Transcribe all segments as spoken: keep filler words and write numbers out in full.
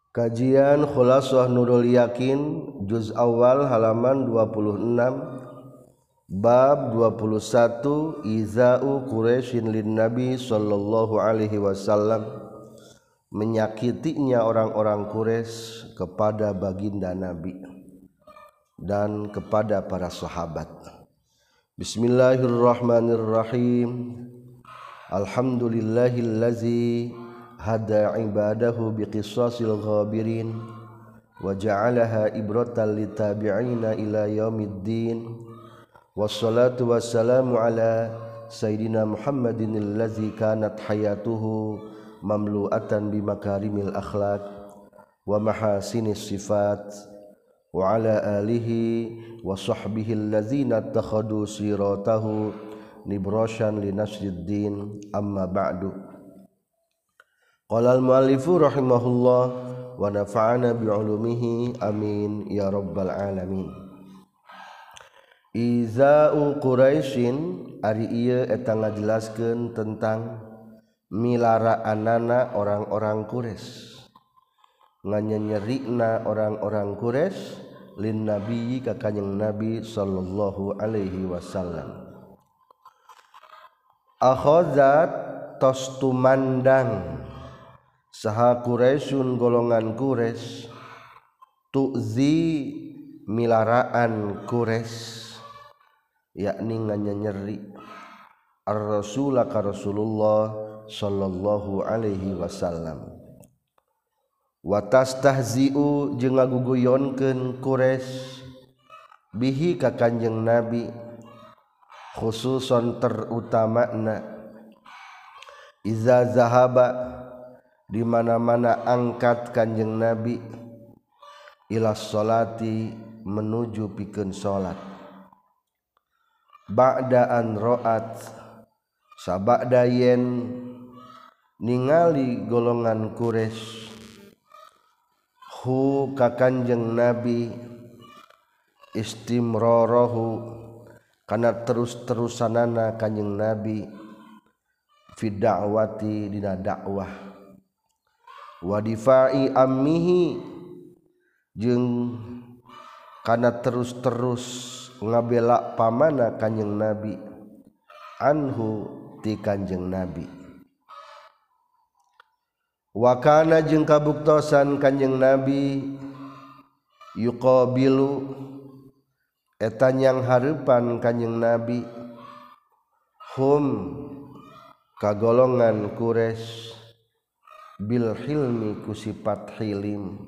Kajian Khulasah Nurul Yakin juz awal halaman dua puluh enam bab dua puluh satu Iza'u Quraisyin lin Nabi sallallahu alaihi wasallam, menyakitinya orang-orang Quraisy kepada baginda Nabi dan kepada para sahabat. Bismillahirrahmanirrahim. Alhamdulillahillazi hada ibadahu biqisasil ghabirin wa ja'alaha ibratan litabi'ina ila yaumiddin. Wassalatu wassalamu ala sayyidina Muhammadin allazi kanat hayatuhu mamlu'atan bimakarimil akhlaq wa mahasinis sifat wa ala alihi wa sahbihi allazina takhadu siratahu nibrashan linasriddin, amma ba'du. Qala al-muallifu rahimahullah wa nafa'ana bi'ulumihi amin ya rabbal alamin. Iza'u Quraisyin ari ieu eta ngajelaskeun tentang milaraanana orang-orang Quraisy, nganyanyerina orang-orang Quraisy lin nabi ka kanjing Nabi sallallahu alaihi wasallam. Akhazat tos tumandang saha Quraisyun golongan Quraisy tu'zi milaraan Quraisy, yakni nganyanyeri ar-rasul ka Rasulullah sallallahu alaihi wasallam. Wa tastahzi'u jeung ngaguguyonkeun Quraisy bihi ka kanjeng Nabi, khususon terutamana iza zahaba di mana-mana angkat kanjeng Nabi ila sholati menuju pikeun salat, ba'da an ra'at sabada yen ningali golongan Quraisy hu ka kanjeng Nabi istimrarahu kana terus-terusanana kanjeng Nabi fi da'wati dina dakwah wa difa'i ammihi jeung kana terus-terus ngabela pamana kanjeng Nabi anhu ti kanjeng Nabi. Wa kana jeung kabuktosan kanjeng Nabi yuqabilu eta nyang hareupan kanjeng Nabi hum kagolongan Quraisy bil hilmi ku sifat hilim,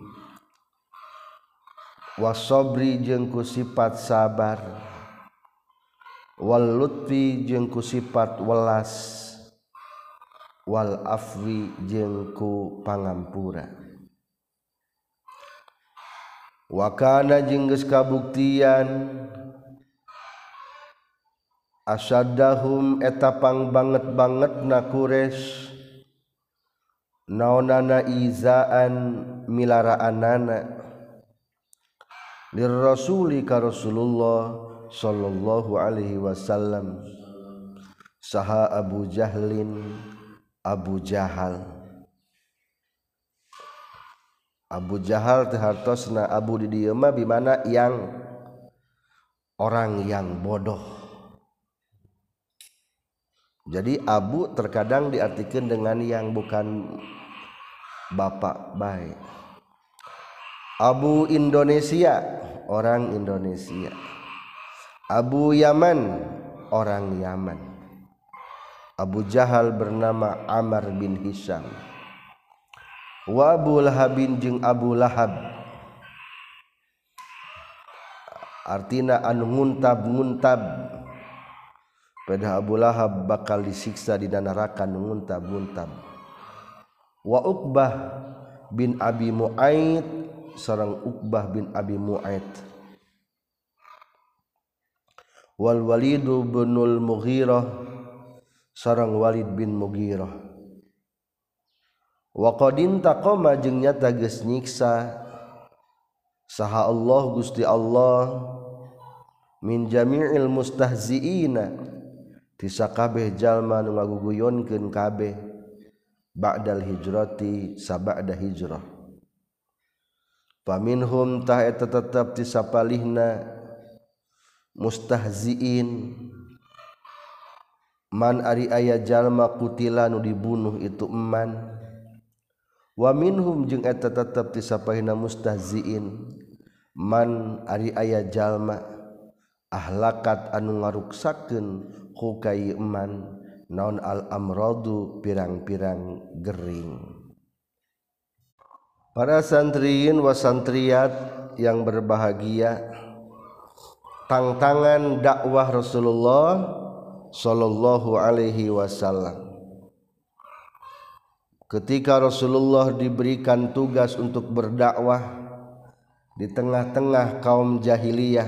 wasobri jeung ku sifat sabar, wal lutfi jeung ku sifat welas, wal afwi jeung ku pangampura. Wa kana jeung geus kabuktian asaddahum eta pang banget-bangetna Quraisy naonana izaan milaraanana lir rasuli ka Rasulullah sallallahu alaihi wasallam saha Abu Jahlin Abu Jahal. Abu Jahal teh hartosna Abu di dieu mah bimana yang orang yang bodoh. Jadi Abu terkadang diartikan dengan yang bukan bapak baik. Abu Indonesia, orang Indonesia. Abu Yaman, orang Yaman. Abu Jahal bernama Amr bin Hisham. Wa Abu Lahabin jeung Abu Lahab, artina anu nguntab-nguntab. Pada Abu Lahab bakal disiksa di neraka nu nguntab-nguntab. Wa Uqbah bin Abi Mu'aid, sareng Uqbah bin Abi Mu'aid. Wal Walid binul Mughirah, sareng Walid bin Mughirah. Wa qadin taqama jeung nyata geus nyiksa saha Allah Gusti Allah min jami'il mustahziina ti sakabeh jalma nu ngaguguyonkeun kabeh ba'dal hijrati sabada hijrah. Faminhum tah eta tetep ti sapalihna mustahziin man ari aya jalma kutila nu dibunuh itu eman. Wa minhum jeung eta tetep ti sapalihna mustahziin man ari aya jalma ahlakat anu ngaruksakeun ku kai eman naon al amradu pirang-pirang gering. Para santriin wa santriyat yang berbahagia, tantangan dakwah Rasulullah sallallahu alaihi wasallam. Ketika Rasulullah diberikan tugas untuk berdakwah di tengah-tengah kaum jahiliyah,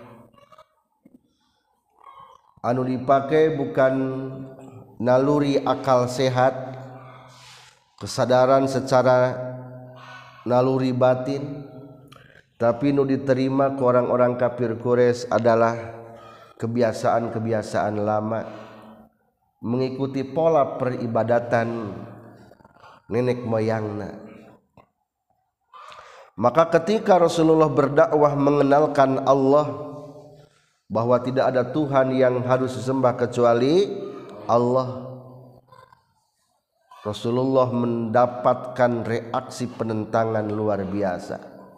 anu dipake bukan naluri akal sehat, kesadaran secara naluri batin, tapi nu diterima ke orang-orang kafir Quraisy adalah kebiasaan-kebiasaan lama, mengikuti pola peribadatan nenek moyangna. Maka ketika Rasulullah berdakwah mengenalkan Allah, bahwa tidak ada Tuhan yang harus disembah kecuali Allah, Rasulullah mendapatkan reaksi penentangan luar biasa.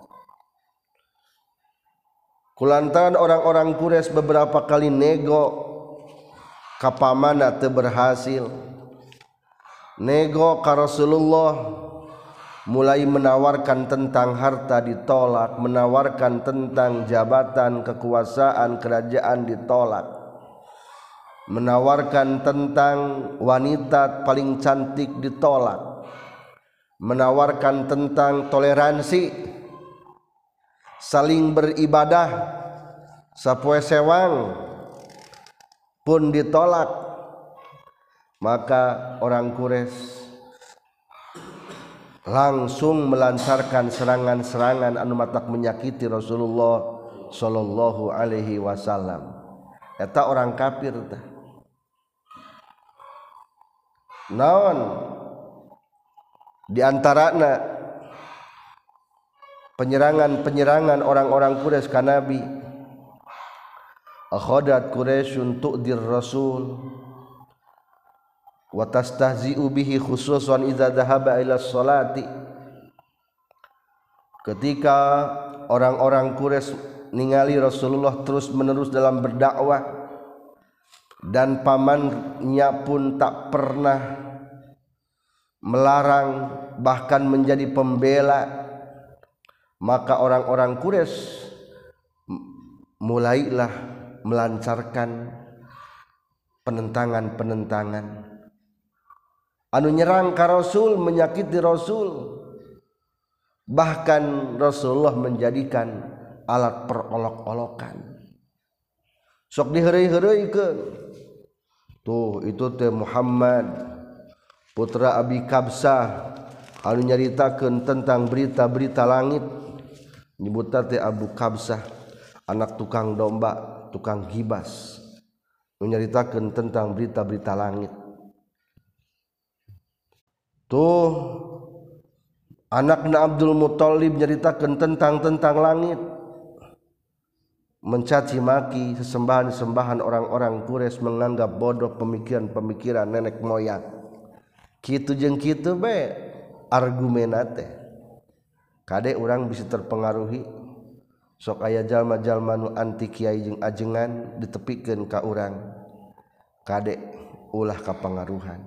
Kulantaran orang-orang Quraisy beberapa kali nego ka pamana teu berhasil. Nego ka Rasulullah, mulai menawarkan tentang harta ditolak, menawarkan tentang jabatan, kekuasaan, kerajaan ditolak, menawarkan tentang wanita paling cantik ditolak, menawarkan tentang toleransi, saling beribadah sapoe sewang pun ditolak. Maka orang Quraisy langsung melancarkan serangan-serangan anu matak menyakiti Rasulullah sallallahu alaihi wasallam. Eta orang kafir tah. Naon di antarana penyerangan-penyerangan orang-orang Quraisy ka Nabi, akhadat Quraisyun tu'dir Rasul wa tastahzi'u bihi khususan idza dhahaba ila sholati. Ketika orang-orang Quraisy ningali Rasulullah terus-menerus dalam berdakwah dan pamannya pun tak pernah melarang, bahkan menjadi pembela, maka orang-orang Quraisy mulailah melancarkan penentangan-penentangan anu nyerang ka Rasul, menyakiti Rasul, bahkan Rasulullah menjadikan alat perolok-olokan. Sok diheureuy-heureuikeun. Tuh itu teh Muhammad putra Abi Kabsah anu nyaritakeun tentang berita-berita langit. Nyebutna teh Abu Kabsah, anak tukang domba, tukang gibas, anu nyaritakeun tentang berita-berita langit. Tuh anakna Abdul Muthalib nyaritakeun tentang tentang langit, mencaci maki sesembahan-sembahan orang-orang Quraisy, menganggap bodoh pemikiran-pemikiran nenek moyang. Kitu jeung kitu be argumenna teh. Kade urang bisa terpengaruhi, sok aya jalma-jalma nu anti kiai jeung ajengan ditepikeun ka urang, kade ulah kapangaruhan.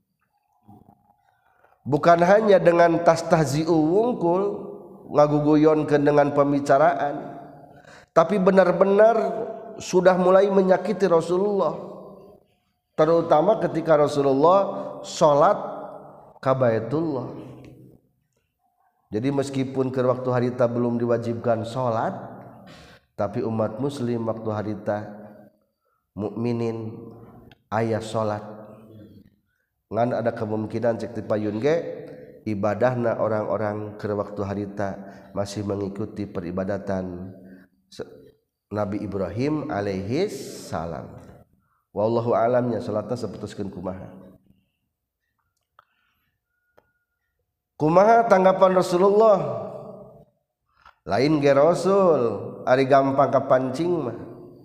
Bukan hanya dengan tas tahzi'u wungkul ngaguguyonkeun dengan pembicaraan, tapi benar-benar sudah mulai menyakiti Rasulullah, terutama ketika Rasulullah sholat ka Baitullah. Jadi meskipun ke waktu harita belum diwajibkan sholat, tapi umat muslim waktu harita mukminin aya sholat. Ngan ada kemungkinan cek tipayun ge ibadahna orang-orang ke waktu harita masih mengikuti peribadatan Nabi Ibrahim alaihi salam. Wallahu alamnya salatna saputuskeun kumaha. Kumaha tanggapan Rasulullah lain ge Rasul ari gampang kapancing mah.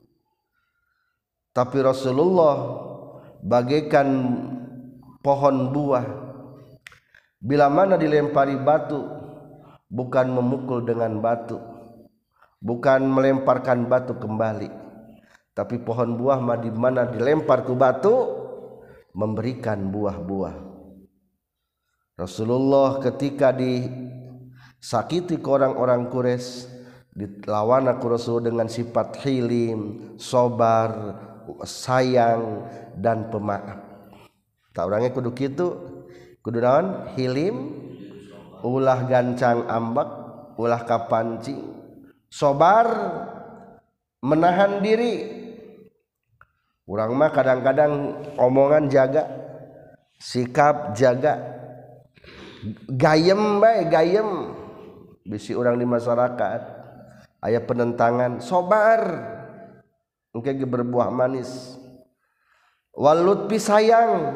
Tapi Rasulullah bagaikan pohon buah, bila mana dilempari batu bukan memukul dengan batu, bukan melemparkan batu kembali, tapi pohon buah mah di mana dilempar ku batu memberikan buah-buah. Rasulullah ketika disakiti ke orang-orang Quraisy dilawan aku Rasul dengan sifat hilim, sabar, sayang dan pemaaf. Tak orangnya kudu kitu, kudu naon? Hilim, ulah gancang ambek, ulah kapancing, sabar, menahan diri. Urang mah kadang-kadang omongan jaga, sikap jaga, gayem bae gayem. Bisi orang di masyarakat aya penentangan, sabar engke ge berbuah manis. Walut pi sayang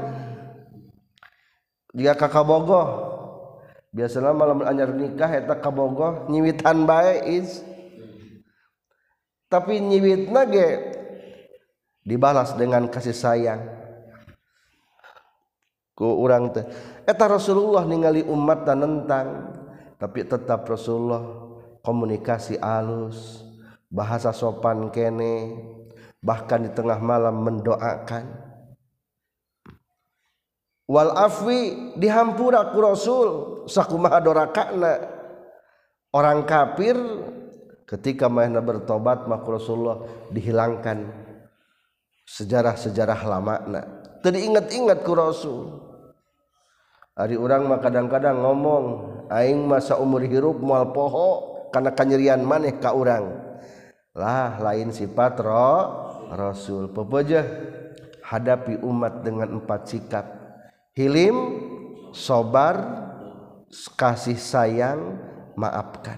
jika kakabogoh biasana malam anyar nikah eta kabogoh nyiwitan bae is, tapi nyiwitna ge dibalas dengan kasih sayang ku urang teh. Eta Rasulullah ningali umat dan nentang, tapi tetap Rasulullah komunikasi alus, bahasa sopan kene, bahkan di tengah malam mendoakan. Wal afwi dihampura ku Rasul sakumaha dorakana. Orang kafir ketika mahna bertobat maka Rasulullah dihilangkan sejarah-sejarah lamana, teu diingat-ingat ku Rasul. Ari urang mah kadang-kadang ngomong aing mah saumur hirup moal poho kana kanyerian maneh ka urang. Lah lain sifat ro Rasul. Pepeujeuh hadapi umat dengan empat sikap: hilim, sabar, kasih sayang, maafkan.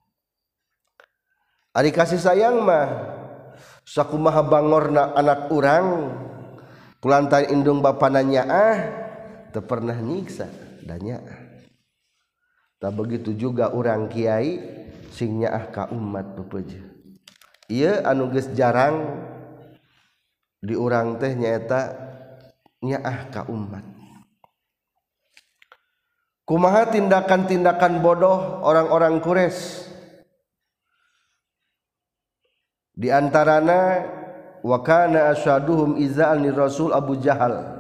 Ari kasih sayang mah sakumaha bangorna anak urang kulantaran indung bapana nyaah teu pernah nyiksa da nyaah. Tak begitu juga urang kiai sing nyaah ka umat pepeujeuh. Ieu anu geus jarang di urang teh nyaeta nyaah ka umat. Kumaha tindakan-tindakan bodoh orang-orang Quraisy? Di antarana wa kana asyaduhum iza'an Rasul Abu Jahal.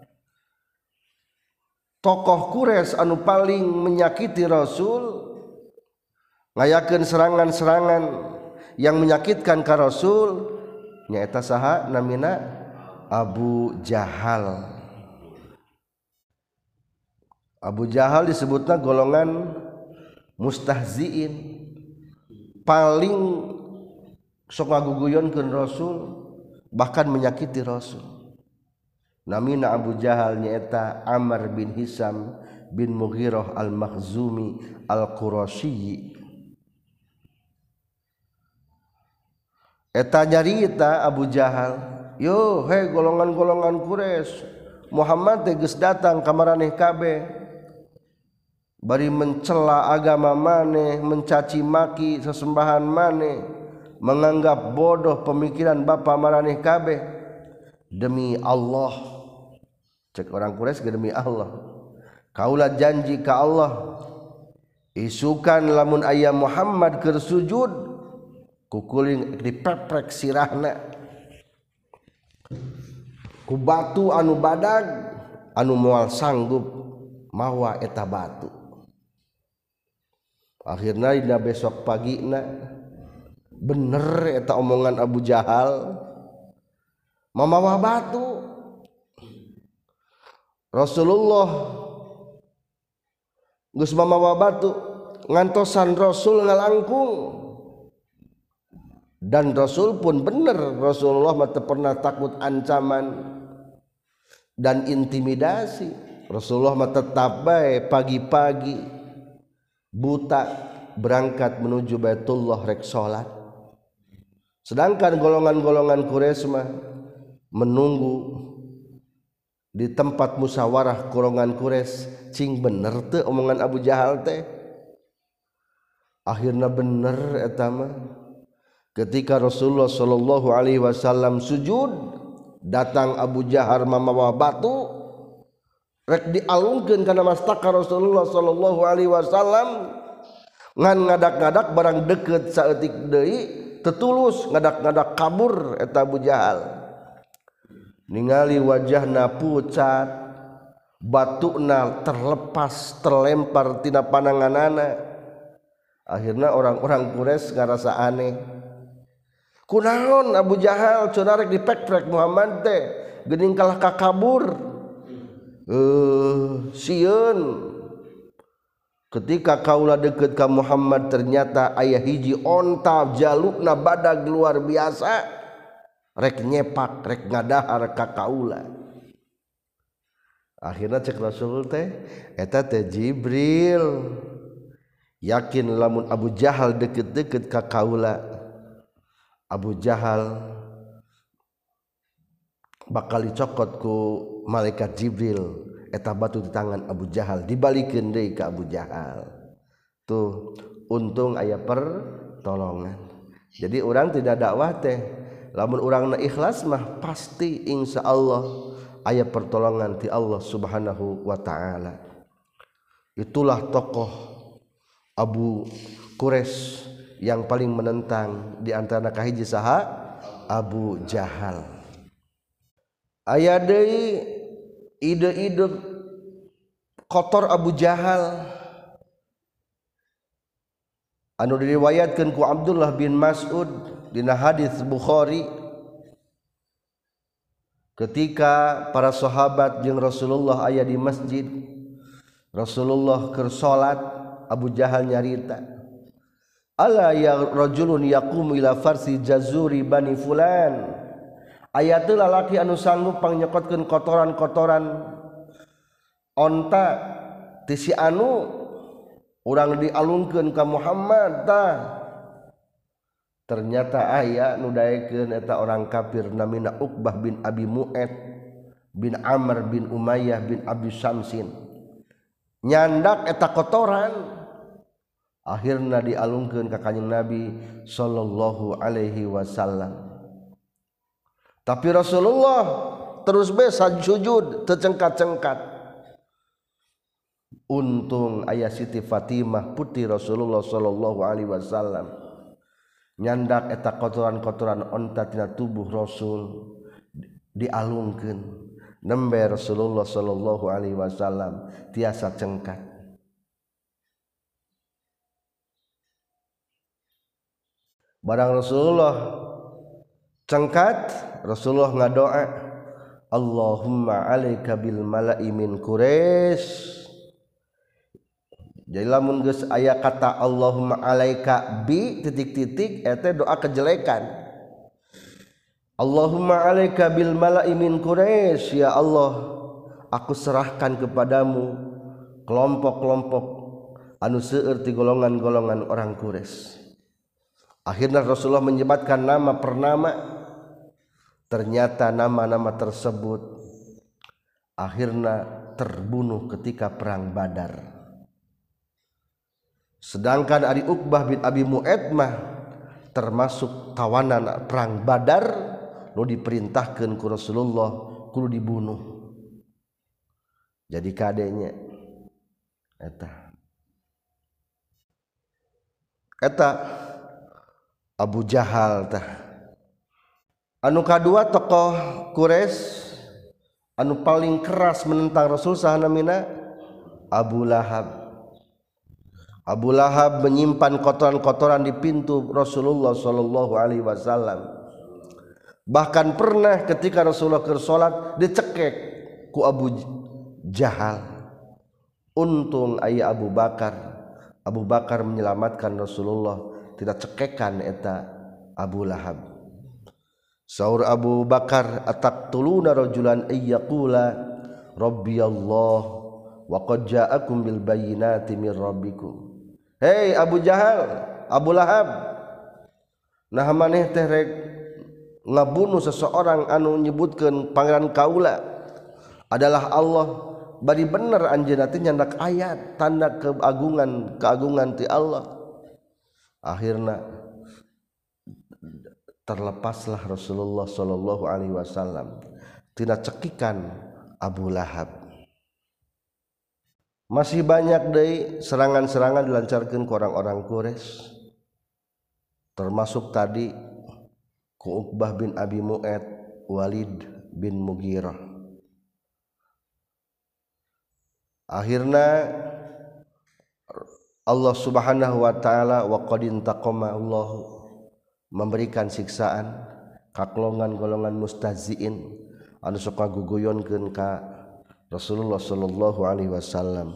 Tokoh Quraisy anu paling menyakiti Rasul, ngayakeun serangan-serangan yang menyakitkan ka Rasul, nyaeta saha namina? Abu Jahal. Abu Jahal disebutna golongan mustahziin, paling sok ngaguguyonkeun Rasul, bahkan menyakiti Rasul. Namina Abu Jahal nyaeta Amr bin Hisam bin Mughirah al-Makhzumi al-Qurasyi. Eta nyarita Abu Jahal, yo he golongan-golongan Quraisy, Muhammad teh geus datang ka maraneh kabeh bari mencela agama maneh, mencaci maki sesembahan maneh, menganggap bodoh pemikiran bapa maraneh kabeh. Demi Allah, cek orang Quraisy demi Allah, kaula janji ka Allah isukan lamun aya Muhammad keur sujud kukuling dipeprek sirahna ku batu anu badag anu moal sanggup mawa eta batu. Akhirna dina besok pagina bener eta omongan Abu Jahal, mamawa batu. Rasulullah geus mamawa batu ngantosan Rasul ngalangkung, dan Rasul pun bener, Rasulullah mah teu pernah takut ancaman dan intimidasi. Rasulullah mah tetap bae pagi-pagi buta berangkat menuju Baitullah rek salat. Sedangkan golongan-golongan Quraisy mah menunggu di tempat musyawarah golongan Quraisy, cing bener teu omongan Abu Jahal teh. Akhirna bener eta mah ketika Rasulullah sallallahu alaihi wasallam sujud datang Abu Jahal mamawa batu rek dialungkeun kana mastaka Rasulullah sallallahu alaihi wasallam ngan ngadak-ngadak barang deket saeutik deui tetulus ngadak-ngadak kabur eta Abu Jahal ningali wajahna pucat batuna terlepas terlempar tina pananganana. Akhirnya orang-orang Quraisy ngarasa aneh. Kunaon Abu Jahal cenah rek dipek-pek Muhammad teh geuning kalah kakabur. Eh sieun. Ketika kaula deukeut ka Muhammad ternyata aya hiji onta jalukna badag luar biasa rek nyepak rek ngadahar ka kaula. Akhirna cek Rasul teh eta teh Jibril. Yakin lamun Abu Jahal deket-deket ka kaula Abu Jahal bakal dicokot ku malaikat Jibril eta batu di tangan Abu Jahal dibalikeun deui ka Abu Jahal. Tuh untung aya pertolongan. Jadi orang tidak dakwah teh lamun urangna ikhlas mah pasti insyaallah aya pertolongan ti Allah Subhanahu wa taala. Itulah tokoh Abu Quraisy yang paling menentang di antara kahiji saha Abu Jahal. Aya deui ide-ide kotor Abu Jahal anu diriwayatkeun ku Abdullah bin Mas'ud dina hadis Bukhari ketika para sahabat jeung Rasulullah aya di masjid Rasulullah keur salat Abu Jahal nyarita ala ya rajulun yaqumu ila farsi jazuri bani fulan aya teu lalaki anu sanggup pangnyekotkeun kotoran-kotoran onta ti si anu urang dialungkeun ka Muhammad tah ternyata aya nu daekeun eta orang kafir namina Uqbah bin Abi Mu'ad bin Amr bin Umayyah bin Abi Syamsin nyandak eta kotoran akhirna dialungkeun ka kanjing Nabi sallallahu alaihi wasallam. Tapi Rasulullah terus bae sujud teu cengkat-cengkat. Untung aya Siti Fatimah putri Rasulullah sallallahu alaihi wasallam nyandak eta kotoran-kotoran onta tina tubuh Rasul dialungkeun nembe Rasulullah sallallahu alaihi wasallam tiasa cengkat. Barang Rasulullah cengkat Rasulullah ngadoa Allahumma alaika bil mala'i min Quraisy. Jadi lamun geus aya kata Allahumma alaika bi titik-titik eta doa kejelekan. Allahumma alaika bil mala'i min Quraisy, ya Allah aku serahkan kepadamu kelompok-kelompok anu seueur ti golongan-golongan orang Quraisy. Akhirnya Rasulullah menyebutkan nama per nama. Ternyata nama-nama tersebut akhirnya terbunuh ketika perang Badar. Sedangkan Ari Uqbah bin Abi Mu'ad mah termasuk tawanan perang Badar nu diperintahkeun ku Rasulullah kudu dibunuh. Jadi kadenya eta eta Abu Jahal tah. Anu kadua tokoh Quraisy anu paling keras menentang Rasul sahana mina Abu Lahab. Abu Lahab menyimpan kotoran-kotoran di pintu Rasulullah sallallahu alaihi wasallam. Bahkan pernah ketika Rasulullah keur salat dicekek ku Abu Jahal. Untung aya Abu Bakar. Abu Bakar menyelamatkan Rasulullah tidak cekekan eta Abu Lahab. Saur Abu Bakar ataqtuluna rajulan ayyaqula rabbi Allah wa qad ja'akum bil bayyinati mir rabbikum. Hei Abu Jahal, Abu Lahab, nah maneh teh rek ngabunuh seseorang anu nyebutkeun pangeran kaula adalah Allah. Bari bener anjeunna teh nyandak ayat tanda keagungan keagungan ti Allah. Akhirna terlepaslah Rasulullah sallallahu alaihi wasallam tina cekikan Abu Lahab. Masih banyak deui serangan-serangan dilancarkeun ku orang-orang Quraisy, termasuk tadi ku Uqbah bin Abi Mu'ayt, Walid bin Mughirah. Akhirna Allah Subhanahu wa taala wa qad intaqama Allah memberikan siksaan ka golongan-golongan mustahziin anu sok ngaguguyonkeun ka Rasulullah sallallahu alaihi wasallam.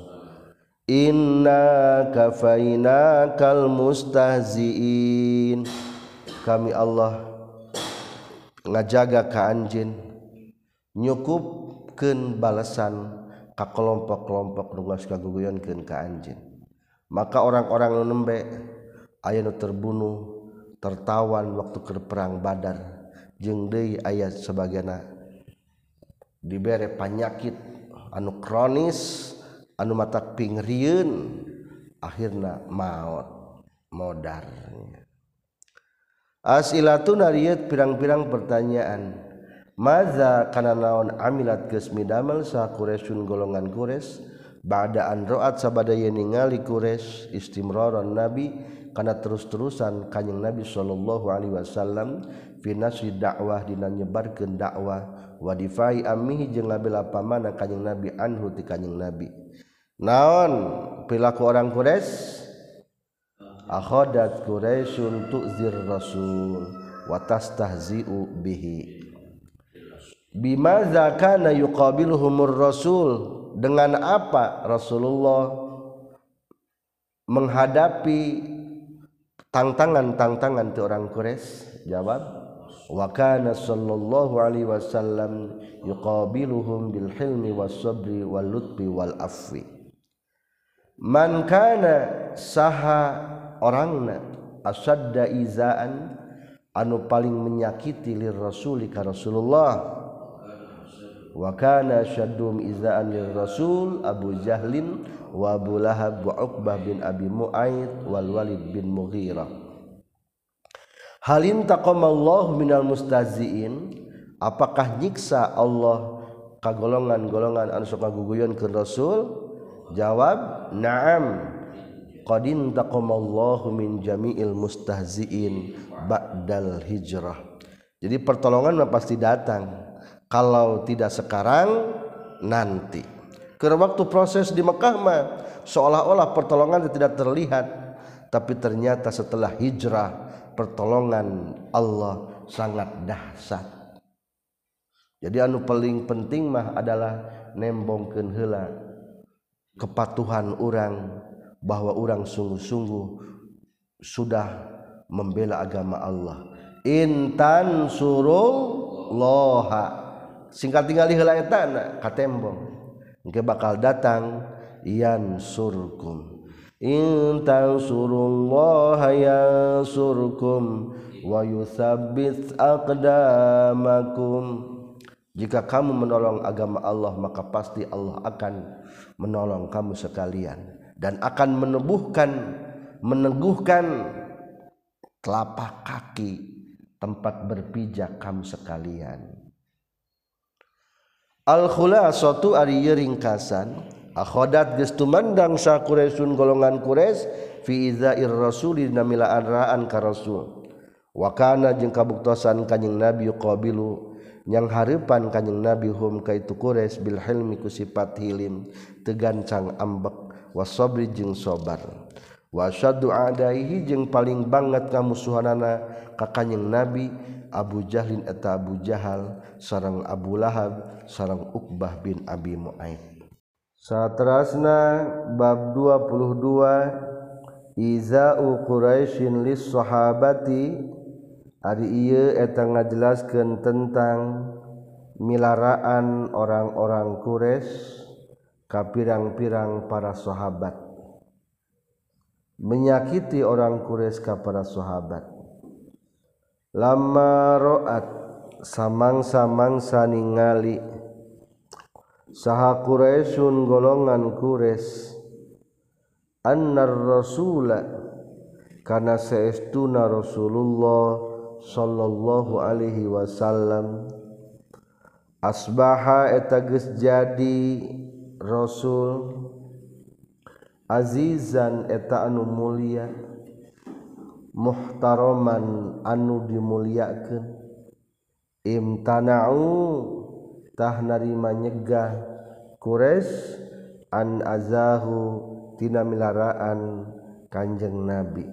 Inna kafainakal mustahziin, kami Allah ngajaga ka anjeun nyukupkeun balasan ka kelompok-kelompok nu geus ngaguguyonkeun ka anjeun. Maka orang-orang nu nembe aya nu terbunuh tertawan waktu ke perang Badar, jeung deui aya sabagana dibere panyakit anu kronis anu matak pingrieun akhirna maot modar. Asilatun arieut pirang-pirang pertanyaan, maza kana naon amilat geus midamel sa Quraisyun golongan Quraisy ba'da an ra'at sabada yen ningali Quraisy istimraran nabi kana terus-terusan kanjing Nabi sallallahu alaihi wasallam fi nasri dakwah dina nyebarkeun dakwah wa difai ammihi jeung ngabela pamana kanjing Nabi anhu ti kanjing Nabi. Naon perilaku orang Quraisy? Akhadat Quraisyun tu'zir rasul wa tastahzi'u bihi. Bimadza kana yuqabiluhumur rasul, dengan apa Rasulullah menghadapi tantangan-tantangan ti orang Quraisy? Jawab, wa kana sallallahu alaihi wasallam yuqabiluhum bil hilmi was sabri wal lutfi wal afwi. Man kana saha orangna asadda izaan anu paling menyakiti lir rasuli ka Rasulullah, wa kana syaddum izaan lir rasul Abu Jahlin wa Abu Lahab wa Uqbah bin Abi Mu'ayt wal Walid bin Mughirah. Halin taqamallahu minal mustahziin, apakah nyiksa Allah ka golongan-golongan anu sok ngaguguyonkeun Rasul? Jawab, na'am. Qad intaqamallahu min jami'il mustahziin ba'dal hijrah. Jadi pertolongan mah pasti datang. Kalau tidak sekarang, nanti. Karena waktu proses di Mekah mah seolah-olah pertolongan tidak terlihat, tapi ternyata setelah hijrah pertolongan Allah sangat dahsyat. Jadi anu paling penting mah adalah nembongkeun heula kepatuhan orang, bahwa orang sungguh-sungguh sudah membela agama Allah. Intan surullaha, singkat tinggali heula eta ka tembong engke bakal datang yansurkum. Intan surullaha yansurkum wa yutsabbit aqdamakum. Jika kamu menolong agama Allah, maka pasti Allah akan menolong kamu sekalian dan akan meneguhkan meneguhkan telapak kaki tempat berpijak kamu sekalian. Al-khulasatu ari ringkasan, akhadat geus tumandang sa Quraisyun golongan Quraisy fi izair rasul dina milaan raan ka rasul. Wa kana jeung kabuktosan kanjing Nabi qabilu yang hareupan kanjing Nabi hum kaitu Quraisy bil hilmi ku sifat hilim teu gancang ambek, wasabri jeung sabar, wasyaddu adaihi jeung paling banget kamusuhanana ka kanjing Nabi Abu Jahlin eta Abu Jahal sareng Abu Lahab sareng Uqbah bin Abi Mu'ayt. Saterasna bab dua puluh dua iza'u Quraisyin lis sahabati. Ari ieu eta ngajelaskeun tentang milaraan orang-orang Quraisy ka pirang-pirang para sahabat, menyakiti orang Quraisy ka para sahabat. Lamma ra'at samang-samangsa ningali saha Quraisyun golongan Quraisy annar rasula kana saestuna Rasulullah sallallahu alaihi wasallam asbaha eta geus jadi Rasul azizan eta anu mulia muhtaraman anu dimuliakeun imtana'u tah narima nyegah Quraisy an azahu tina milaraan Kanjeng Nabi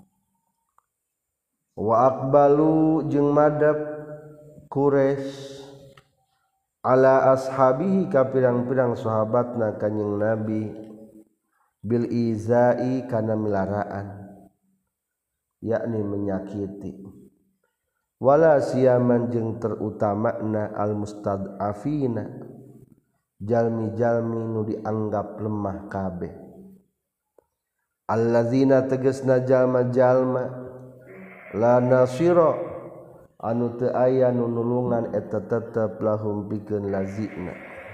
wa aqbalu jeung madab Quraisy ala ashabihi ka pirang-pirang sahabatna Kanjeng Nabi bil izai kana milaraan yakni menyakiti wala siyaman jeung terutamana al mustad'afina jalmi-jalmi nu dianggap lemah kabeh allazina tegasna jalma-jalma la nasira anu teu aya nu nulungan eta tetep lahum pikeun lazina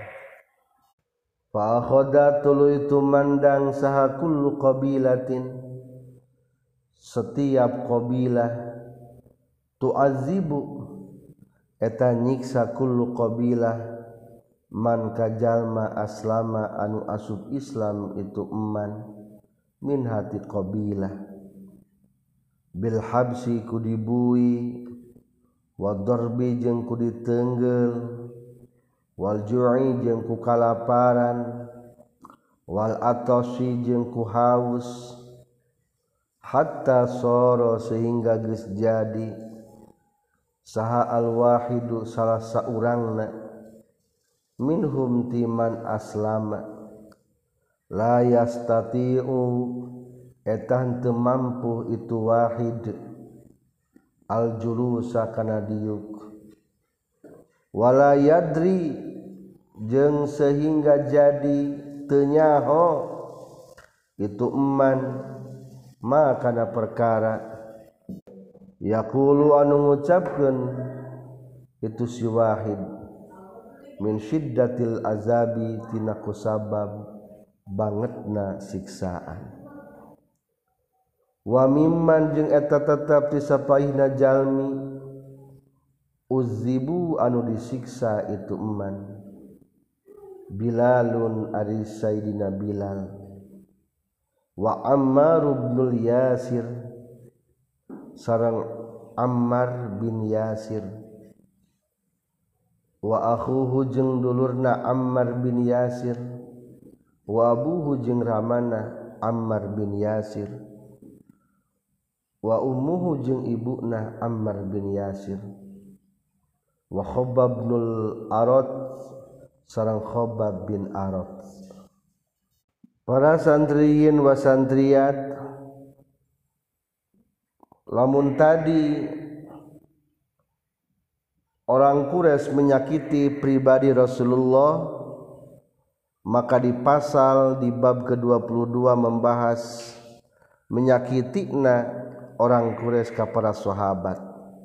fa akhadha tuluy tumandang saha kullu qabilatin setiap qabilah tu'azibu eta nyiksa kullu qabilah man kajalma aslama anu asup Islam itu eman min hati qabilah bil habsi ku dibui wa darbi jeung ku diteunggel wal ju'i jeung ku kalaparan wal atasi jeung ku haus hatta soro sehingga geus jadi saha al wahidu salah saurangna minhum timan aslama la yastati'u eta teu mampu itu wahid al julusa kana diuk wala yadri jeung sehingga jadi teu nyaho itu eman ma kana perkara yaqulu anu ngucapkeun itu si wahid min syiddatil azabi tina kusabab bangetna siksaan wa mimman jeung eta tetep disapaihna jalmi uzibu anu disiksa itu eman Bilalun ari Sayyidina Bilal wa Ammar ibnul Yasir sareng Ammar bin Yasir wa akhuhu jeung dulurna Ammar bin Yasir wa abuhu jeung ramana Ammar bin Yasir wa ummuhu jeung ibuna Ammar bin Yasir wa Khabbab ibnul Arat sareng Khabbab bin Arat. Para santriyin wa santriyat lamun tadi orang Quraisy menyakiti pribadi Rasulullah, maka di pasal di bab ke dua puluh dua membahas menyakitina orang Quraisy ka para sahabat.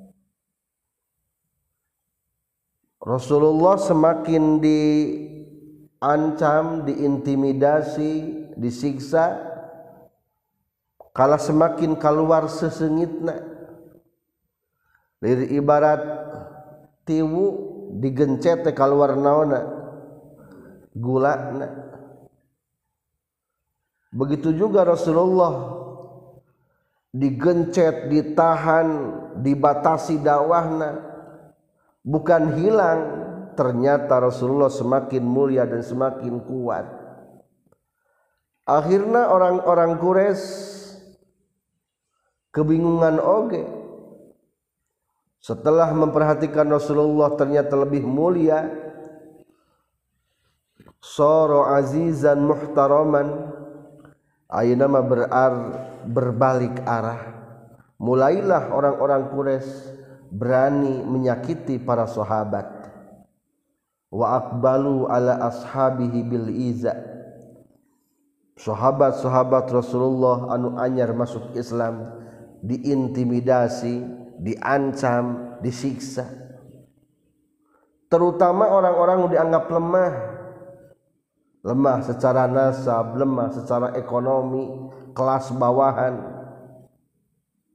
Rasulullah semakin diancam, diintimidasi, disiksa, kala semakin keluar seseungitna. Dari ibarat tiwu digencet teh keluar naonna gulana. Begitu juga Rasulullah digencet, ditahan, dibatasi dakwahna, bukan hilang, ternyata Rasulullah semakin mulia dan semakin kuat. Akhirnya orang-orang Quraisy kebingungan oge. Setelah memperhatikan Rasulullah ternyata lebih mulia, soro azizan muhtaraman, ayeuna mah berar berbalik arah. Mulailah orang-orang Quraisy berani menyakiti para sahabat. Wa aqbalu ala ashabihi bil iza. Sahabat-sahabat Rasulullah anu anyar masuk Islam diintimidasi, diancam, disiksa. Terutama orang-orang yang dianggap lemah. Lemah secara nasab, lemah secara ekonomi, kelas bawahan.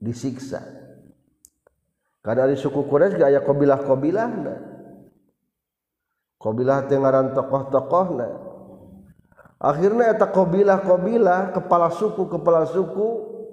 disiksa. Karena di suku Quraisy ge aya qabilah-qabilahna. Qabilah teh ngaran tokoh-tokohna. Akhirna eta qabilah-qabilah, kepala suku-kepala suku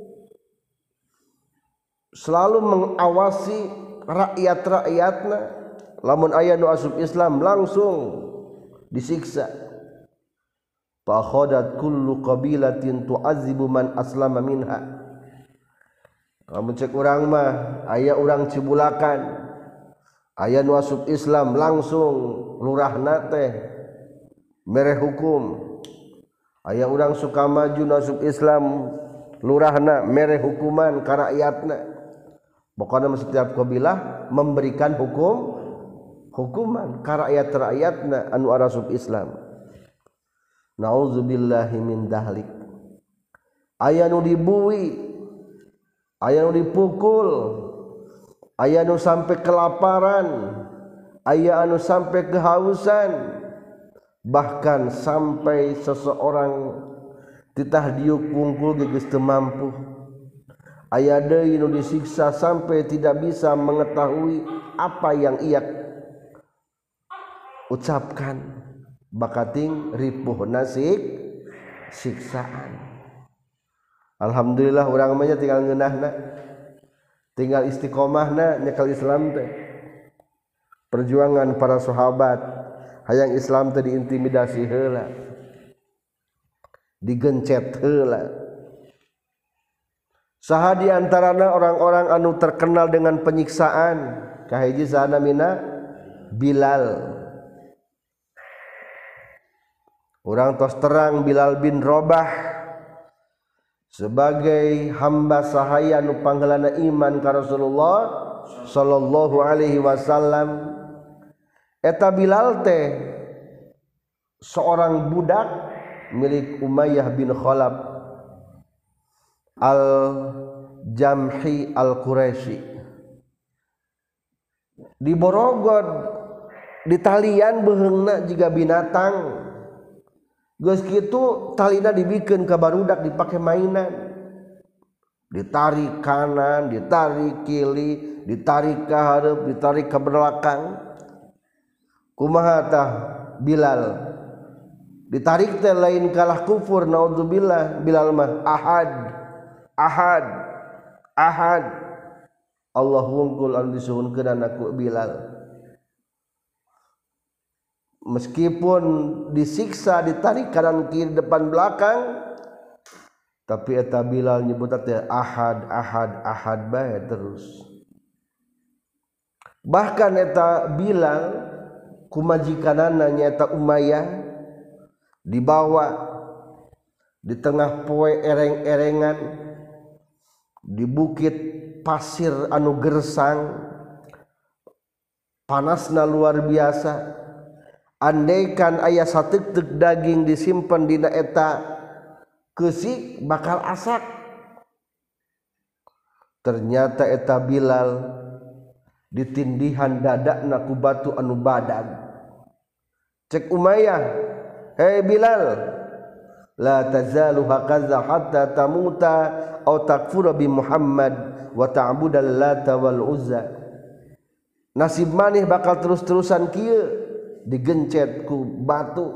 selalu mengawasi rakyat-rakyatna. Lamun aya nu asup Islam langsung disiksa. Fa khadat kullu qabilatin tu'azzibu man aslama minha. Lamun cek urang mah aya urang Cibulakan, aya nu asup Islam langsung lurahna teh mere hukum. Aya urang Sukamaju nu asup Islam lurahna mere hukuman ka rakyatna. Pokona setiap qabilah memberikan hukum hukuman ka rakyat-rakyatna anu asup Islam. Nauzubillahi min dahlik. Aya nu dibuwi, aya nu dipukul, aya nu sampai kelaparan, aya anu sampai kehausan, bahkan sampai seseorang titah diuk wungkul geus teu mampu. Aya deui nu disiksa sampai tidak bisa mengetahui apa yang ia ucapkan, bakating ripuh nasik siksaan. Alhamdulillah urang mah tinggal ngeunahna, tinggal istiqomahna nyekel Islam teh. Perjuangan para sahabat hayang Islam teh diintimidasi heula, digencet heula. Saha di antarana orang-orang anu terkenal dengan penyiksaan, kahiji sahana mina Bilal. Urang tos terang Bilal bin Rabah sebagai hamba sahaya nu panggeulana iman ka Rasulullah sallallahu alaihi wasallam. Eta Bilal teh seorang budak milik Umayyah bin Khalaf Al-Jamhi Al-Quraisy. Di Borogod di talian beheungna jiga binatang. Geus kitu talina dibikeun ka barudak dipake mainan. Ditarik kanan, ditarik kiri, ditarik ke hareup, ditarik ke belakang. Kumaha tah Bilal? Ditarik teh lain kalah kufur, naudzubillah. Bilal mah ahad, ahad, ahad. Allah wungkul anu disuhunkeun ku Bilal. Meskipun disiksa, ditarik kanan kiri depan belakang, tapi eta Bilal nyebut teh ahad, ahad, ahad bae terus. Bahkan eta Bilal kumajikanana nyaeta Umayyah dibawa di tengah poe ereng-erengan di bukit pasir anu gersang, panasna luar biasa. Andaikan aya sateuk-teuk daging disimpen dina eta keusik bakal asak. Ternyata eta Bilal ditindihan dadakna ku batu anu badag. Cek Umayyah, "Hei Bilal, la tazalu hakaza hatta tamuta aw takfura bi Muhammad wa ta'budal Lata wal Uzza." Nasib maneh bakal terus-terusan kieu digencet ku batu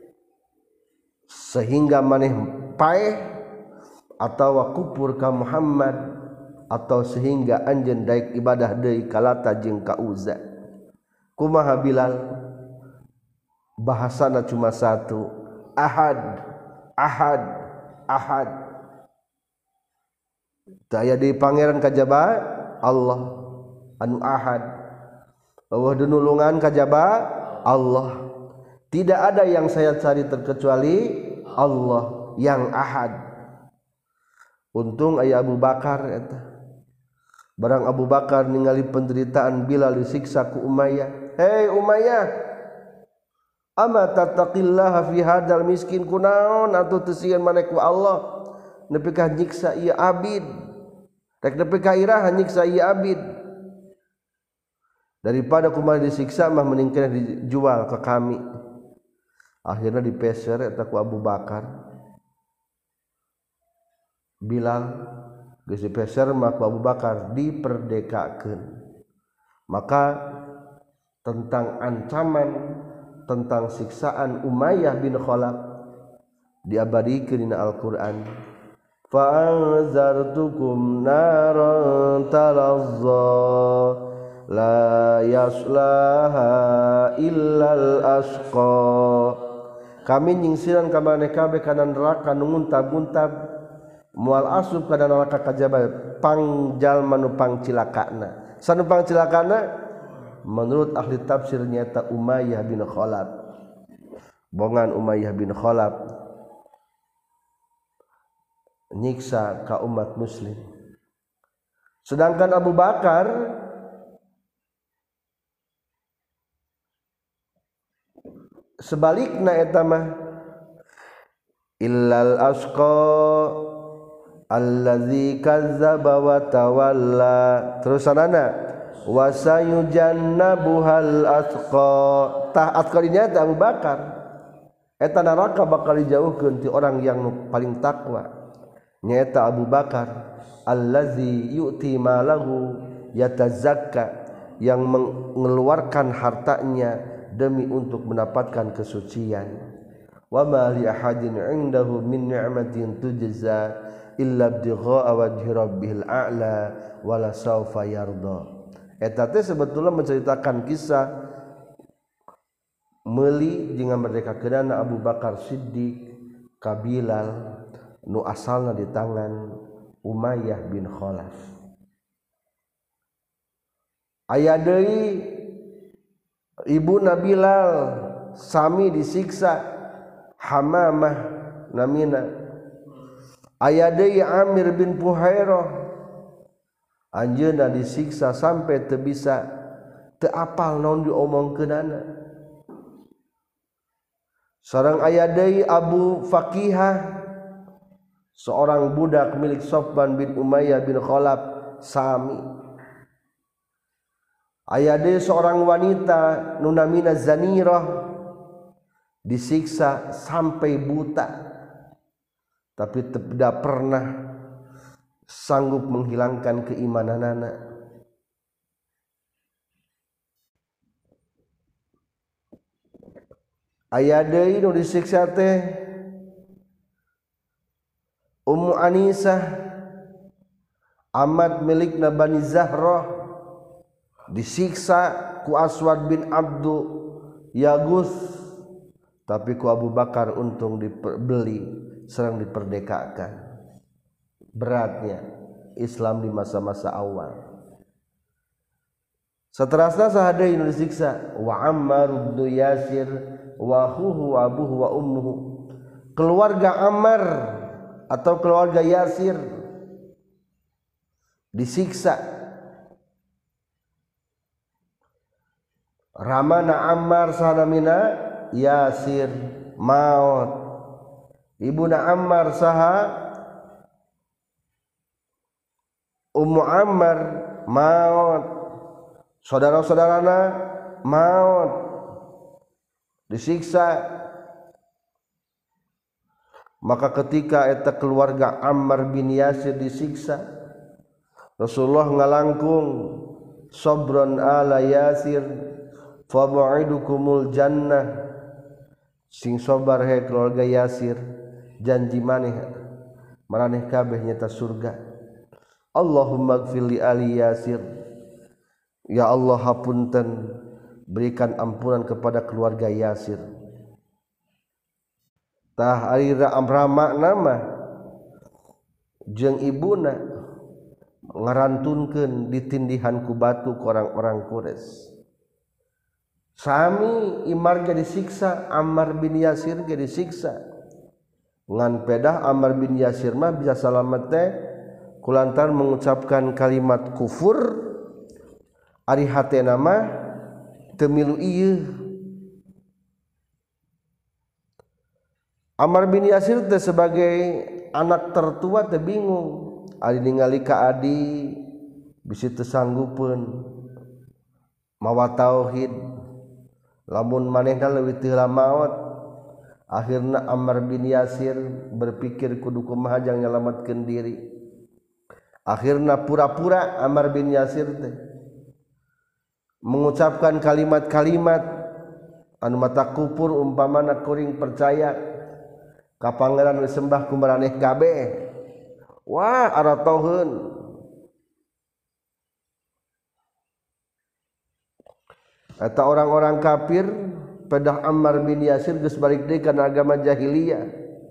sehingga maneh paeh atawa kupur ka Muhammad, atau sehingga anjeun daek ibadah deui ka Lata jeung ka Uzza. Kumaha Bilal? Bahasana cuma satu, ahad, ahad, ahad. Teu aya di pangeran kajaba Allah anu ahad. Eueuh dunulungan kajaba Allah. Tidak ada yang saya cari terkecuali Allah yang ahad. Untung aya Abu Bakar eta. Barang Abu Bakar ningali penderitaan Bilal disiksa ku Umayyah. "Hei Umayyah, ama tattaqillaha fi hadzal miskin, kunaon atuh teu sieun maneh ku Allah nepi ka nyiksa ieu abid. Rek nepi ka iraha nyiksa ieu abid. Daripada kumaha disiksa mah mending kena dijual ke kami." Akhirnya dipeser eta ku Abu Bakar. Bilal geus dipeser maka Abu Bakar diperdekakeun. Maka tentang ancaman tentang siksaan Umayyah bin Khalaf diabadikeun dina Al-Qur'an. Fa'anzartukum naran talazza la yaslaha illal asqa. Kami nyingsiran ka maneh kabeh kana neraka nu nguntab-nguntab moal asup kana neraka kajaba pangjalma nu pangcilakana. Sanu pangcilakana menurut ahli tafsir nyata Umayyah bin Khalaf. Bongan Umayyah bin Khalaf nyiksa ka umat muslim. Sedangkan Abu Bakar sebalikna eta mah illal asqa allazi kazzaba wa tawalla. Terus sanana wa sayujannabuhal atqa. Tah atqa dinyata Abu Bakar eta neraka bakal dijauhkeun ti orang yang paling takwa. Nyaeta Abu Bakar allazi yu'ti malahu yatazakka, yang mengeluarkan hartanya demi untuk mendapatkan kesucian. Wa ma li ahadin 'indahu min ni'matin tujza illa ibtigha'a wajhi rabbil a'la wala saufa yarda. Eta teh sebetulna menceritakan kisah meuli jeung merdekakeunana Abu Bakar Siddiq ka Bilal nu asalna di tangan Umayyah bin Khalaf. Aya deui ibuna Bilal sami disiksa Hamamah namina. Aya deui Amir bin Fuhairah anjeunna disiksa sampai teu bisa teu apal naon diomongkeunana. Sareng aya deui Abu Fakihah seorang budak milik Sofwan bin Umayyah bin Khalaf sami. Aya deui seorang wanita nu namina Zanirah disiksa sampai buta tapi tidak pernah sanggup menghilangkan keimananana. Aya deui nu disiksa teh Ummu Anisah amat milikna Bani Zahrah disiksa ku Aswad bin Abdu Yagus, tapi ku Abu Bakar untung dibeli serang diperdekakan. Beratnya Islam di masa-masa awal. Saterasna saha deui nu disiksa wa Ammar bin Yasir wa huwa abuhu wa ummuhu. Keluarga Ammar atau keluarga Yasir disiksa. Ramana Ammar sahamina Yasir maut. Ibuna Ammar saha Ummu Ammar maut. Saudara-saudarana maut disiksa. Maka ketika eta keluarga Ammar bin Yasir disiksa, Rasulullah ngalangkung sabron ala Yasir fa mu'idukumul jannah. Sing sabar he keluarga Yasir, janji maneh maraneh kabeh nyata surga. Allahumma ighfir li ali Yasir, ya Allah hapunten berikan ampunan kepada keluarga Yasir. Tah arira amrama nama jeung ibuna ngarantunkeun ditindihan ku batu ku orang-orang Quraisy. Sami Imar ge disiksa, Ammar bin Yasir ge disiksa. Ngan pedah Ammar bin Yasir mah bisa salamet teh kulantaran mengucapkan kalimat kufur ari hatena mah teu milu ieu. Ammar bin Yasir teh sebagai anak tertua teh bingung, ari ningali ka adi bisi teu sanggupeun mawa tauhid, lamun manehna leuwih teu maot. Akhirna Ammar bin Yasir berpikir kudu kumaha jang nyalametkeun diri. Akhirna pura-pura Ammar bin Yasir teh mengucapkan kalimat-kalimat anu mata kupur umpamana kuring percaya ka pangeran disembah ku maraneh kabeh. Wah aratoheun eta orang-orang kafir pedah Ammar bin Yasir geus balik deui kana agama jahiliyah.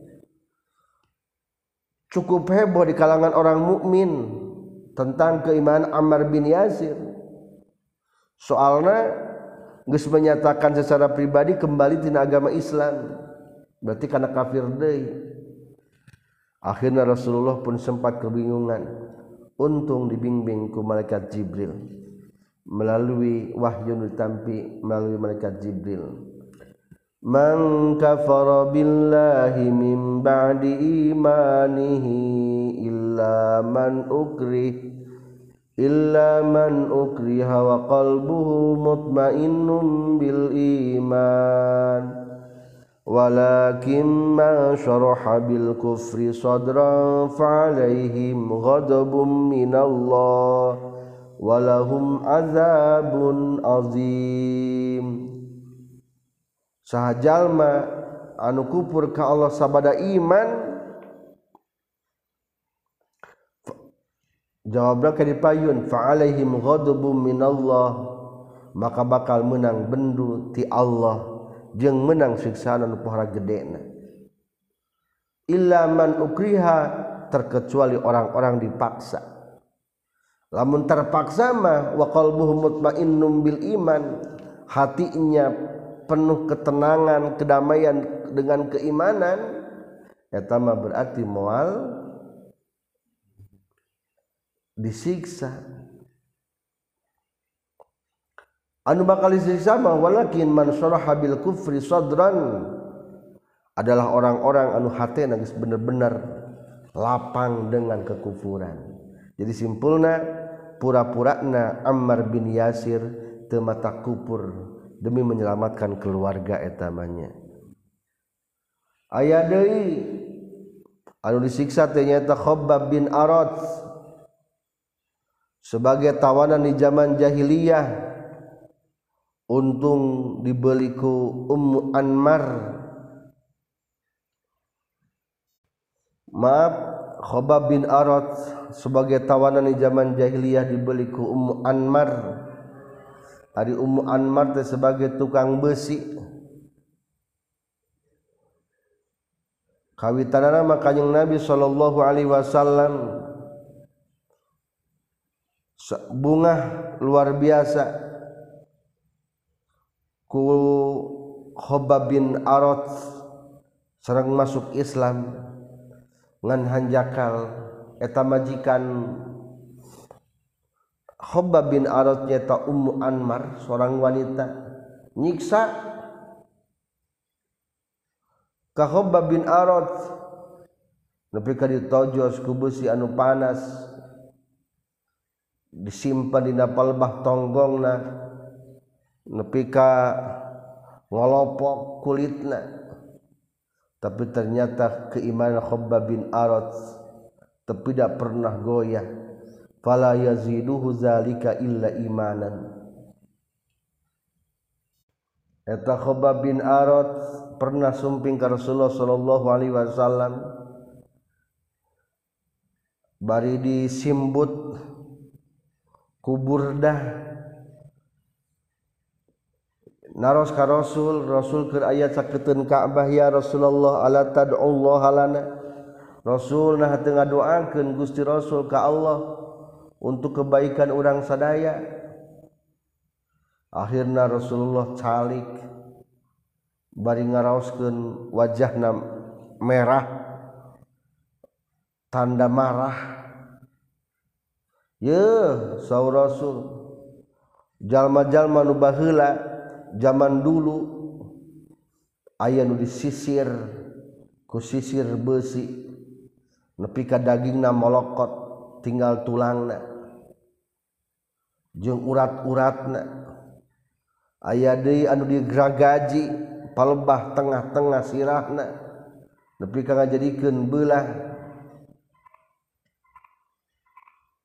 Cukup heboh di kalangan orang mukmin tentang keimanan Ammar bin Yasir. Soalna geus menyatakan secara pribadi kembali tina agama Islam. Berarti kana kafir deui. Akhirnya Rasulullah pun sempat kebingungan. Untung dibimbing ku malaikat Jibril melalui wahyu ditampi melalui malaikat Jibril. Man kafara billahi min ba'di imanihi illa man ukrih illa man ukriha wa qalbuhu mutmainnun bil iman walakin ma syaraha bil kufri sadran fa'alaihim ghadabun minallah walahum azabun azim. Saha jalma anu kufur ka Allah sabada iman, jawabna ka dipayun fa'alaihim ghadabun minallah, maka bakal menang bendu ti Allah jeung menang siksaan anu pohara gedena. Illa man ukriha, terkecuali orang-orang dipaksa. Lamun terpaksa mah wa qalbuhu mutmainnun bil iman, hatinya penuh ketenangan, kedamaian dengan keimanan, eta mah berarti moal disiksa. Anu bakal disiksa mah walakin man syaraha bil kufri sadran, adalah orang-orang anu hatena geus bener-bener lapang dengan kekufuran. Jadi simpulna pura-purana Ammar bin Yasir teu mata kupur demi menyelamatkan keluarga etamanya. Aya deui anu disiksa teh nyaeta Khabbab bin Arat sebagai tawanan di zaman jahiliyah. Untung dibeli ku Ummu Anmar. Maaf, Khabbab bin Arat sebagai tawanan di zaman jahiliyah dibeli ku Ummu Anmar. Ari Ummu Anmar teh sebagai tukang besi. Kawitanana mah Kanjeng Nabi sallallahu alaihi wasallam bunga luar biasa ku Khabbab bin Arat sareng masuk Islam ngan hanjakal eta majikan Khabbab bin Arat nyata Ummu Anmar, seorang wanita nyiksa ka Khabbab bin Arat nepi ka ditojos ku besi anu panas disimpan dina palebah tonggongna nepi ka ngolopok kulitna. Tapi ternyata keimanan Khabbab bin Arat tidak pernah goyah. Fala yaziduhu zalika illa imanan. Eta Khabbab bin Arat pernah sumping ka Rasulullah sallallahu alaihi wasallam bari disimbut ku Burdah naros ka Rasul, Rasul keur aya caketeun Ka'bah, ya Rasulullah ala tad'ullah lana. Rasul nah teu ngadoakeun Gusti Rasul ka Allah untuk kebaikan urang sadaya. Akhirna Rasulullah calik bari ngaraoskeun wajahna merah tanda marah. Ye saur Rasul, jalma-jalma nu baheula zaman dulu aya nu disisir ku sisir besi nepi ka dagingna molokot tinggal tulangna jeung urat-uratna. Aya deui anu digeragaji palebah tengah-tengah sirahna nepi ka ngajadikeun beulah.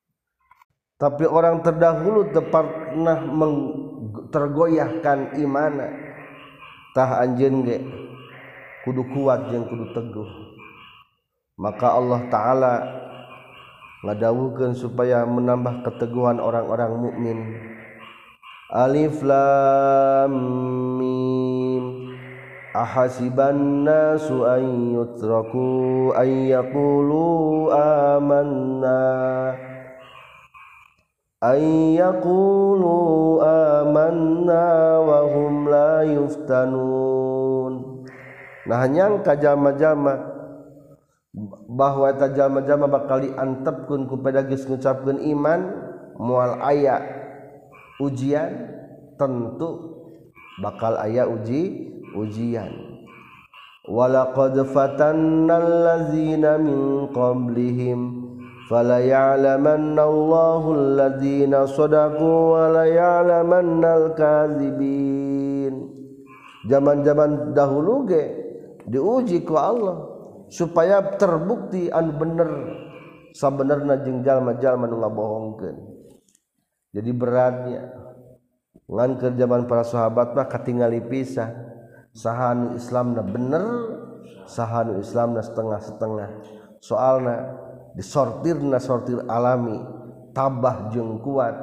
tapi orang terdahulu teu pernah tergoyahkan imana. Tah anjeun ge kudu kuat jeung kudu teguh. Maka Allah Ta'ala ngadawuhkeun supaya menambah keteguhan orang-orang mukmin. Alif Lam Mim. Ahasiban nasu an yutraku an yaqulu amanna an yaqulu amanna wa hum la yuftanun. Nah nyangka jalma-jalma bahwa eta jalma-jalma bakal diantepkeun ku geus ngucapkeun iman moal aya ujian, tentu bakal aya uji ujian. Walaqad fatannal ladzina min qablihim fala ya'lamanna Allahu alladzina shadaqu wa la ya'lamannal kadzibin. Zaman-zaman dahulu ge diuji ku Allah supaya terbukti anu bener sabenerna jeung jalma-jalma nu ngabohongkeun. Jadi beratnya ngan ke zaman para sahabat mah katingali pisah saha anu Islamna bener saha anu Islamna setengah-setengah. Soalna disortirna sortir alami tabah jeung kuat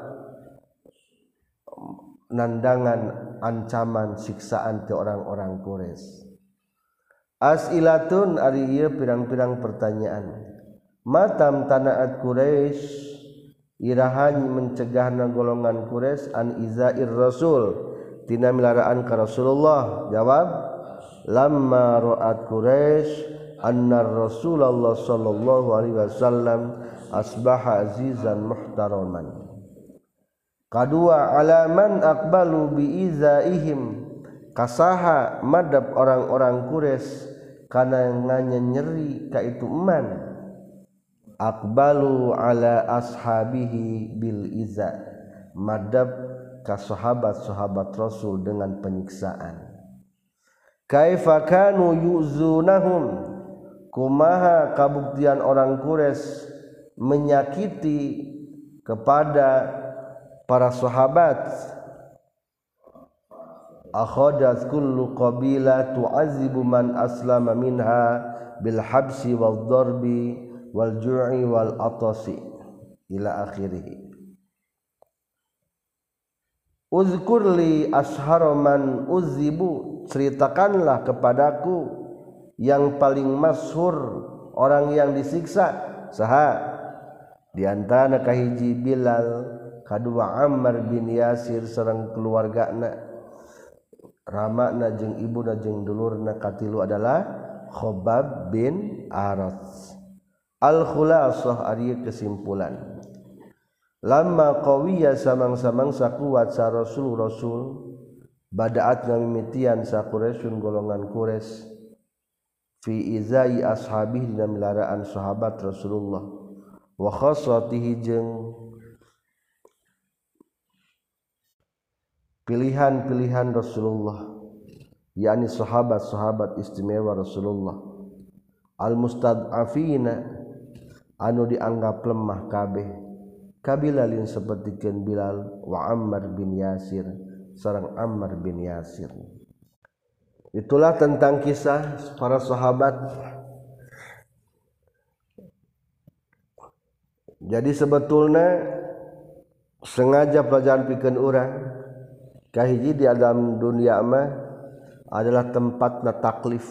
nandangan ancaman siksaan ti orang-orang Quraisy. As'ilatun ari ieu pirang-pirang pertanyaan. Matam tanaat Quraisy irahan mencegahna golongan Quraisy an izair rasul tina milaraan ka Rasulullah. Jawab, lamma ra'at Quraisy anna Rasulullah sallallahu alaihi wasallam asbaha azizan muhtaraman. Kadua, alaman aqbalu bi izaihim, kasaha madab orang-orang Quraisy kana nganyeri ka itu eman. Aqbalu ala ashabihi bil iza, madab ka sahabat-sahabat Rasul dengan penyiksaan. Kaifa kanu yuzunahum, kumaha kabuktian orang Quraisy menyakiti kepada para sahabat. Akhadat kullu qabila tu'azibu man aslama minha bil habsi wal darbi wal ju'i wal atasi ila akhirih. Uzkur li ashhara man uzibu, ceritakanlah kepadaku yang paling masyhur orang yang disiksa. Saha? Di antara kahiji Bilal, kadua Ammar bin Yasir sareng keluargana, ramana jeung ibuna jeung dulurna katilu adalah Khobab bin Arat. Al-khulasah ari kesimpulan. Lamma qawiya samang-samang sakuat sa Rasul Rasul badaat ngamimitian sa Quraisyun golongan Quraisy fi izai ashabihi dina milaraan sahabat Rasulullah wa khassatihi jeung pilihan-pilihan Rasulullah, yakni sahabat-sahabat istimewa Rasulullah, al-mustad'afina anu dianggap lemah kabeh, kabilalin sapertikeun Bilal wa Ammar bin Yasir sareng Ammar bin Yasir. Itulah tentang kisah para sahabat. Jadi sebetulnya sengaja pelajaran pikeun urang kahiji di dalam dunia mah adalah tempatna taklif.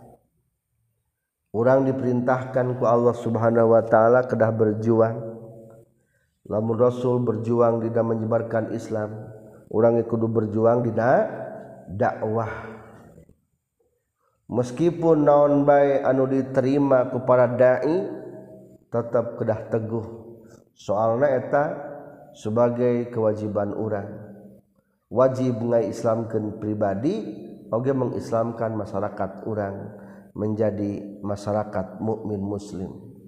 Urang diperintahkan ku Allah Subhanahu wa taala kedah berjuang. Lamun Rasul berjuang dina menyebarkan Islam, urang kudu berjuang dina dakwah. Meskipun naon bae anu diterima ku para dai tetap kedah teguh. Soalna eta sebagai kewajiban urang. Wajib ngaislamkeun pribadi oge mengislamkan masyarakat urang menjadi masyarakat mukmin muslim.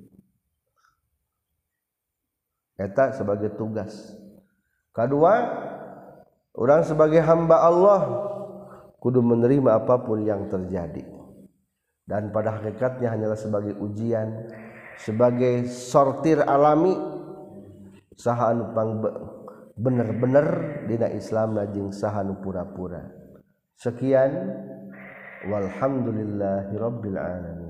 Eta sebagai tugas. Kedua, orang sebagai hamba Allah kudu menerima apapun yang terjadi. Dan pada hakikatnya hanyalah sebagai ujian, sebagai sortir alami saha anu pang bener-bener dina Islam jeung saha anu pura-pura. Sekian walhamdulillahirabbil alamin.